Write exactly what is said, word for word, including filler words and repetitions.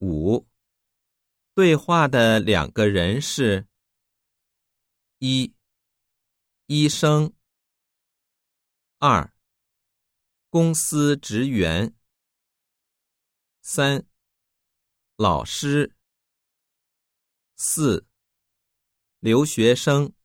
五、对话的两个人是：一、医生；二、公司职员；三、老师；四、留学生。